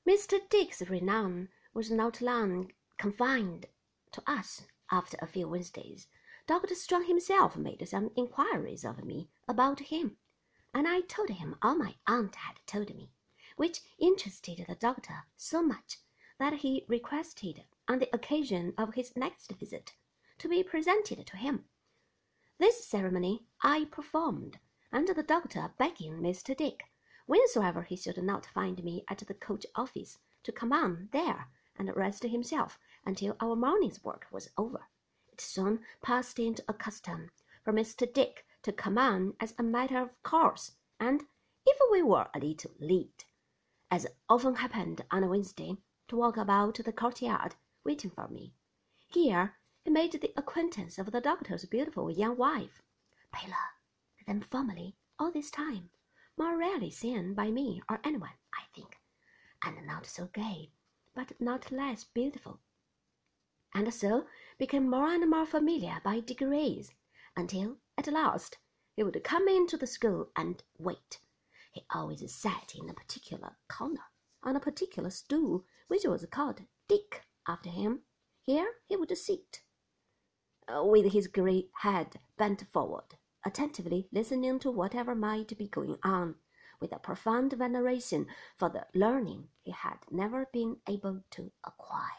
Mr. Dick's renown was not long confined to us. After a few Wednesdays, Dr. Strong himself made some inquiries of me about him, and I told him all my aunt had told me, which interested the doctor so much that he requested, on the occasion of his next visit, to be presented to him. This ceremony I performed, and the doctor begging Mr. Dick, whensoever he should not find me at the coach office, to come on there and rest himself until our morning's work was over. It soon passed into a custom for Mr. Dick to come on as a matter of course, and if we were a little late, as often happened on a Wednesday, to walk about the courtyard waiting for me. Here he made the acquaintance of the doctor's beautiful young wife, paler than formerly all this time, more rarely seen by me or anyone, I think, and not so gay, but not less beautiful, and so became more and more familiar by degrees, until at last he would come into the school and wait. He always sat in a particular corner, on a particular stool, which was called Dick after him. Here he would sit, with his grey head bent forward, attentively listening to whatever might be going on, with a profound veneration for the learning he had never been able to acquire.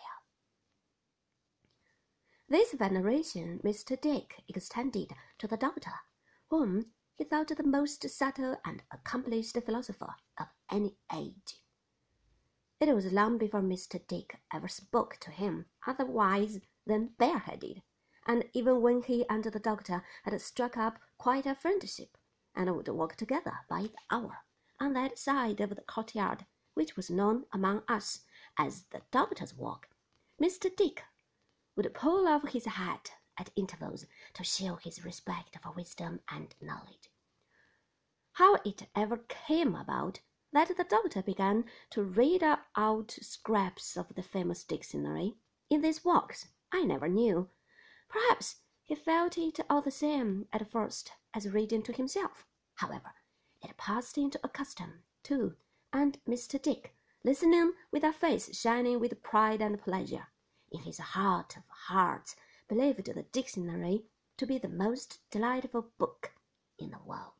This veneration Mr. Dick extended to the doctor, whom he thought the most subtle and accomplished philosopher of any age. It was long before Mr. Dick ever spoke to him otherwise than bareheaded, and even when he and the doctor had struck up quite a friendship, and would walk together by the hour on that side of the courtyard which was known among us as the doctor's walk, Mr. Dick would pull off his hat at intervals to show his respect for wisdom and knowledge. How it ever came about that the doctor began to read out scraps of the famous dictionary in these walks, I never knew. Perhaps he felt it all the same at first as reading to himself. However, it passed into a custom, too, and Mr. Dick, listening with a face shining with pride and pleasure, in his heart of hearts believed the dictionary to be the most delightful book in the world.